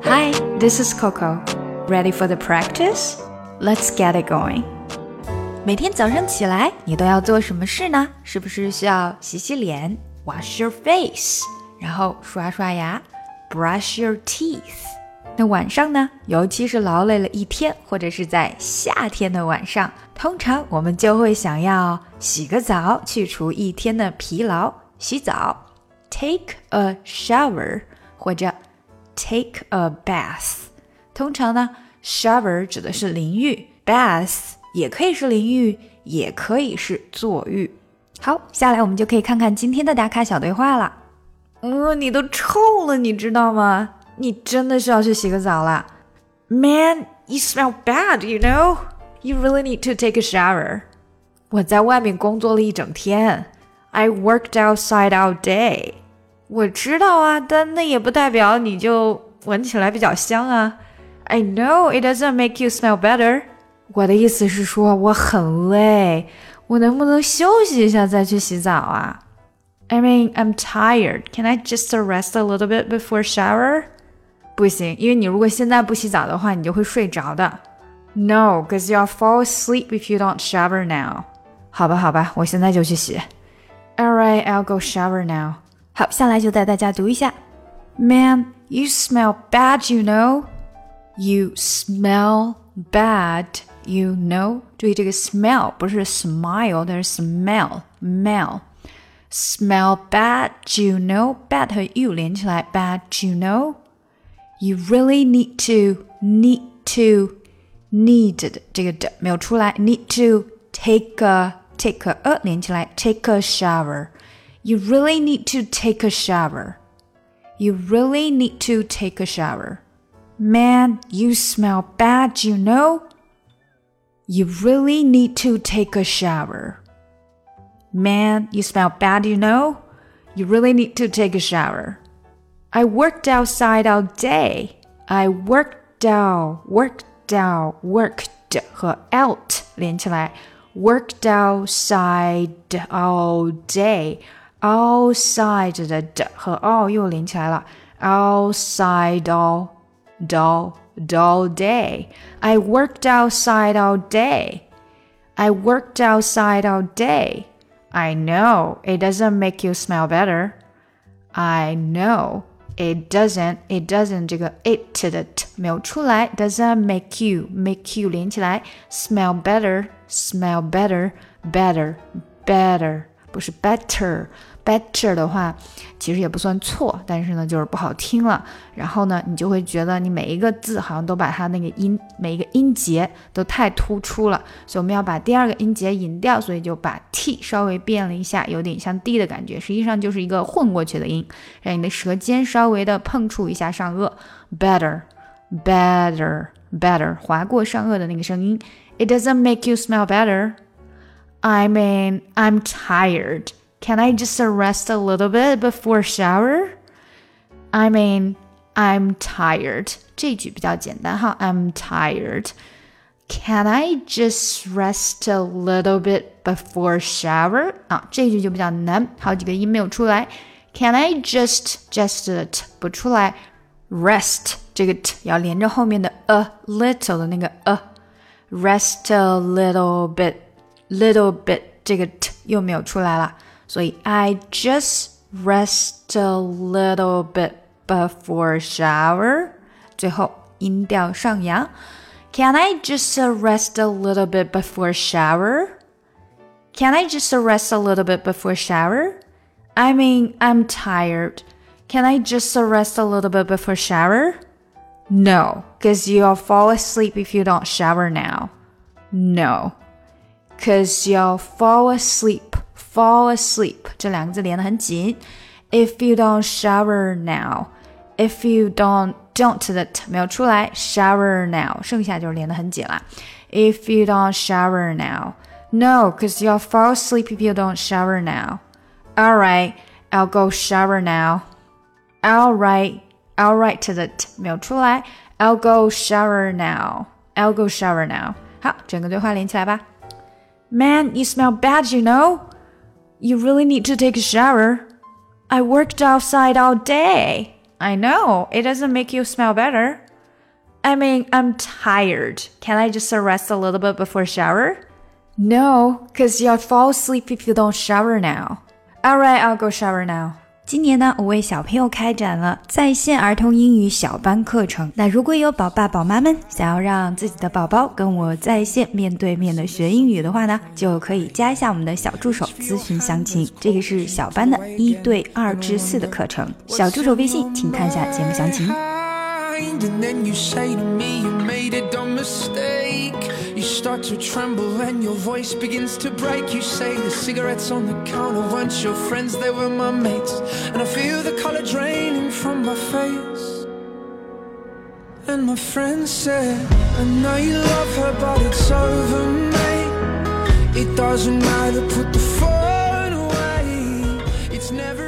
Hi, this is Coco. Ready for the practice? Let's get it going. 每天早上起来，你都要做什么事呢？是不是需要洗洗脸 wash your face， 然后刷刷牙 brush your teeth。那晚上呢，尤其是劳累了一天，或者是在夏天的晚上，通常我们就会想要洗个澡，去除一天的疲劳，洗澡 take a shower 或者 take a bath。 通常呢 shower 指的是淋浴， bath 也可以是淋浴，也可以是坐浴。好，下来我们就可以看看今天的打卡小对话了。你都臭了，你知道吗？你真的需要去洗个澡了。 Man, you smell bad, you know? You really need to take a shower. 我在外面工作了一整天。 I worked outside all day. 我知道啊，但那也不代表你就闻起来比较香啊。 I know, it doesn't make you smell better. 我的意思是说我很累，我能不能休息一下再去洗澡啊？ I mean, I'm tired. Can I just rest a little bit before shower? 不行，因为你如果现在不洗澡的话，你就会睡着的。 No, because you'll fall asleep if you don't shower now. 好吧，我现在就去洗。 Alright, I'll go shower now. 好，下来就带大家读一下。 Man, you smell bad, you know? You smell bad, you know? 注意这个 smell 不是 smile， 但是 smell Smell bad, you know? Bad 和 you 连起来 bad, you know? You really need to 这个的没有出来 need to take a 连起来 take a shower. You really need to take a shower. You really need to take a shower. Man, you smell bad, you know? You really need to take a shower. Man, you smell bad, you know? You really need to take a shower. I worked outside all day. I worked 和 out 连起来 worked outside all day. Outside 的和 all 又连起来了 outside all day. I worked outside all day. I worked outside all day. I know it doesn't make you smell better. I know it doesn't 这个 it 的 t 没有出来 doesn't make you 连起来 smell better 不是 better 的话其实也不算错，但是呢就是不好听了，然后呢你就会觉得你每一个字好像都把它那个每一个音节都太突出了，所以我们要把第二个音节引掉，所以就把 t 稍微变了一下，有点像 d 的感觉，实际上就是一个混过去的音，让你的舌尖稍微的碰触一下上颚 better 划过上颚的那个声音。 It doesn't make you smell better. I mean, I'm tired. Can I just rest a little bit before shower? I mean, I'm tired. 这句比较简单哈 I'm tired. Can I just rest a little bit before shower? 这句就比较难，好几个音没有出来。Can I just 的 t 不出来 rest 这个 t 要连着后面的 a little 的那个 rest a little bit 这个 t 又没有出来了，所以 I just rest a little bit before shower 最后音调上扬。 Can I just rest a little bit before shower? Can I just rest a little bit before shower? I mean, I'm tired. Can I just rest a little bit before shower? No, because you'll fall asleep if you don't shower now. No, because you'll fall asleep 这两个字连得很紧 If you don't shower now. If you don't 的 t 没有出来 shower now 剩下就是连得很紧了 If you don't shower now. No, because you'll fall asleep if you don't shower now. Alright, I'll go shower now. Alright 的 t 没有出来 I'll go shower now.好，整个对话连起来吧。 Man, you smell bad, you know? You really need to take a shower. I worked outside all day. I know, it doesn't make you smell better. I mean, I'm tired. Can I just rest a little bit before shower? No, because you'll fall asleep if you don't shower now. Alright, I'll go shower now. 今年呢，我为小朋友开展了在线儿童英语小班课程。那如果有宝爸宝妈们想要让自己的宝宝跟我在线面对面的学英语的话呢，就可以加一下我们的小助手咨询详情。这个是小班的1对2至4的课程，小助手微信请看一下节目详情。 And then you say to me you made a dumb mistake. You start to tremble and your voice begins to break. You say the cigarettes on the counter weren't your friends, they were my mates. And I feel the color draining from my face. And my friend said, I know you love her but it's over, mate. It doesn't matter, put the phone away. It's never